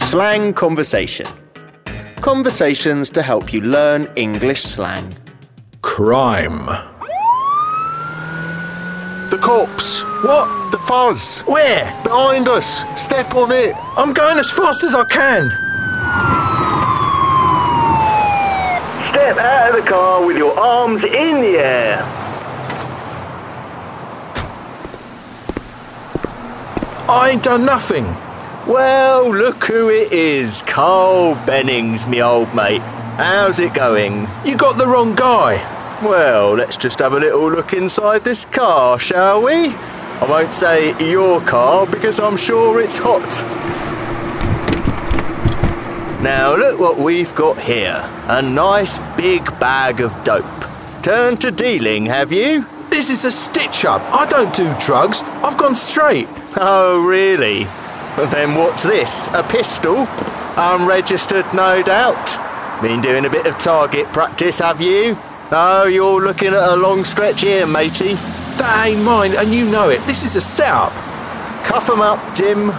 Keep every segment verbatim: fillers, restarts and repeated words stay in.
Slang conversation. Conversations to help you learn English slang. Crime. The cops. What? The fuzz. Where? Behind us. Step on it. I'm going as fast as I can. Step out of the car with your arms in the air. I ain't done nothing. Well, look who it is. Carl Bennings, me old mate. How's it going? You got the wrong guy. Well, let's just have a little look inside this car, shall we? I won't say your car because I'm sure it's hot. Now look what we've got here. A nice big bag of dope. Turn to dealing, have you? This is a stitch-up. I don't do drugs. I've gone straight. Oh, really? Well, then what's this? A pistol? Unregistered, no doubt. Been doing a bit of target practice, have you? Oh, you're looking at a long stretch here, matey. That ain't mine, and you know it. This is a setup. Cuff 'em up, Jim.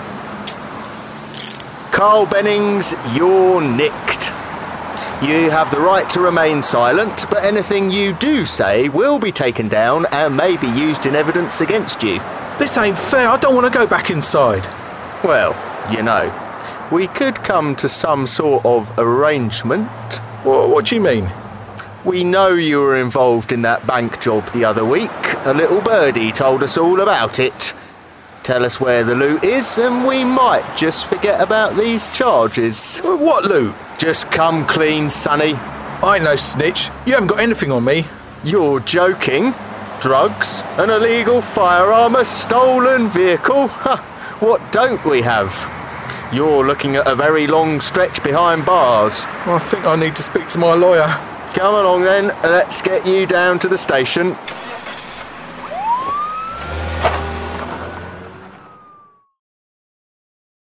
Carl Bennings, you're nicked. You have the right to remain silent, but anything you do say will be taken down and may be used in evidence against you. This ain't fair. I don't want to go back inside. Well, you know, we could come to some sort of arrangement. What, what do you mean? We know you were involved in that bank job the other week. A little birdie told us all about it. Tell us where the loot is and we might just forget about these charges. What loot? Just come clean, sonny. I ain't no snitch. You haven't got anything on me. You're joking? Drugs, an illegal firearm, a stolen vehicle? What don't we have? You're looking at a very long stretch behind bars. I think I need to speak to my lawyer. Come along then, let's get you down to the station.